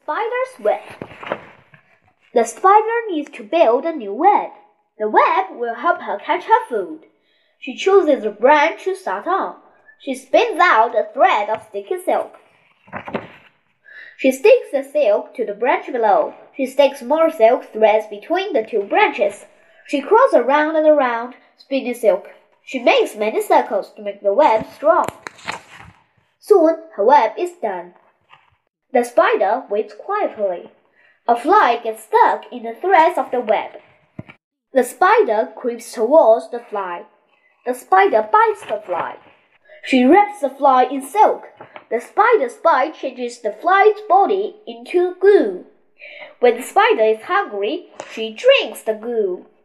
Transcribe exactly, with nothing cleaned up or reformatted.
Spider's web. The spider needs to build a new web. The web will help her catch her food. She chooses a branch to start on. She spins out a thread of sticky silk. She sticks the silk to the branch below. She sticks more silk threads between the two branches. She crawls around and around, spinning silk. She makes many circles to make the web strong. Soon her web is done. The spider waits quietly. A fly gets stuck in the threads of the web. The spider creeps towards the fly. The spider bites the fly. She wraps the fly in silk. The spider's bite changes the fly's body into glue. When the spider is hungry, she drinks the glue.